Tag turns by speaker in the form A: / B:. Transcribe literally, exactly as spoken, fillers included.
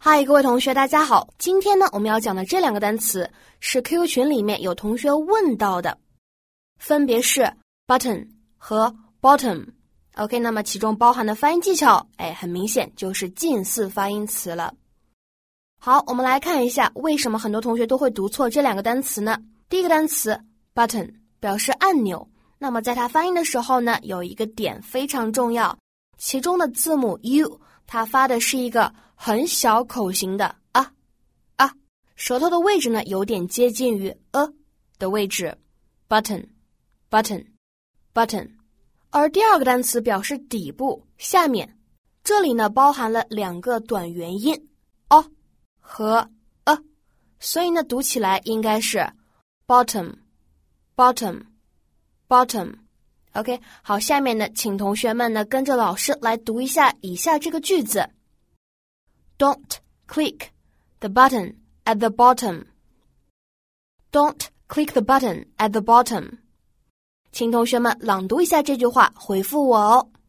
A: 嗨，各位同学大家好，今天呢我们要讲的这两个单词是 Q Q 群里面有同学问到的，分别是 button 和 bottom。OK， 那么其中包含的发音技巧，哎，很明显就是近似发音词了。好，我们来看一下为什么很多同学都会读错这两个单词呢？第一个单词 button 表示按钮，那么在它发音的时候呢，有一个点非常重要，其中的字母 U 它发的是一个很小口型的啊啊，舌头的位置呢有点接近于呃的位置 button button button。 而第二个单词表示底部下面，这里呢包含了两个短元音 o 和 a， 所以呢读起来应该是 bottom bottom bottom。OK， 好，下面呢请同学们呢跟着老师来读一下以下这个句子。Don't click the button at the bottom. Don't click the button at the bottom. 请同学们朗读一下这句话，回复我哦。